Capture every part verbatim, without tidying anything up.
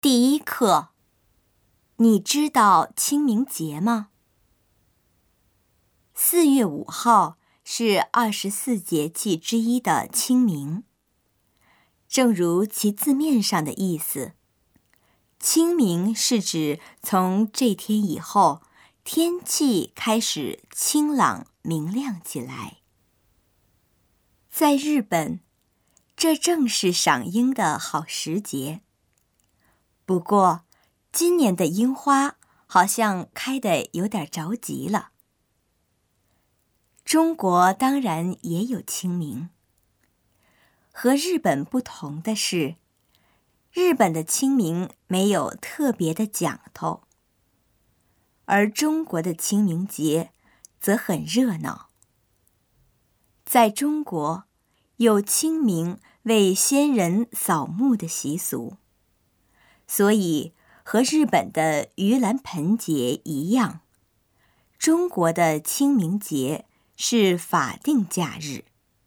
第一课，你知道清明节吗？四月五号是二十四节气之一的清明。正如其字面上的意思，清明是指从这天以后，天气开始清朗明亮起来。在日本，这正是赏樱的好时节。不过，今年的樱花好像开得有点着急了。中国当然也有清明。和日本不同的是，日本的清明没有特别的讲头，而中国的清明节则很热闹。在中国，有清明为先人扫墓的习俗。所以，和日本的盂兰盆节一样，中国的清明节是法定假日。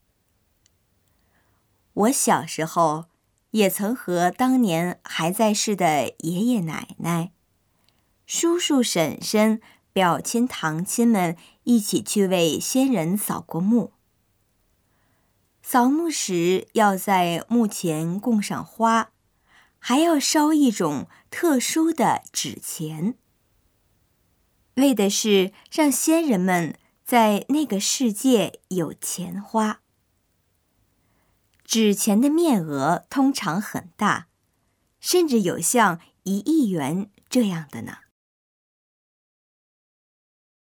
我小时候也曾和当年还在世的爷爷奶奶、叔叔婶婶、表亲堂亲们一起去为先人扫过墓。扫墓时要在墓前供上花，还要烧一种特殊的纸钱，为的是让先人们在那个世界有钱花。纸钱的面额通常很大，甚至有像一亿元这样的呢。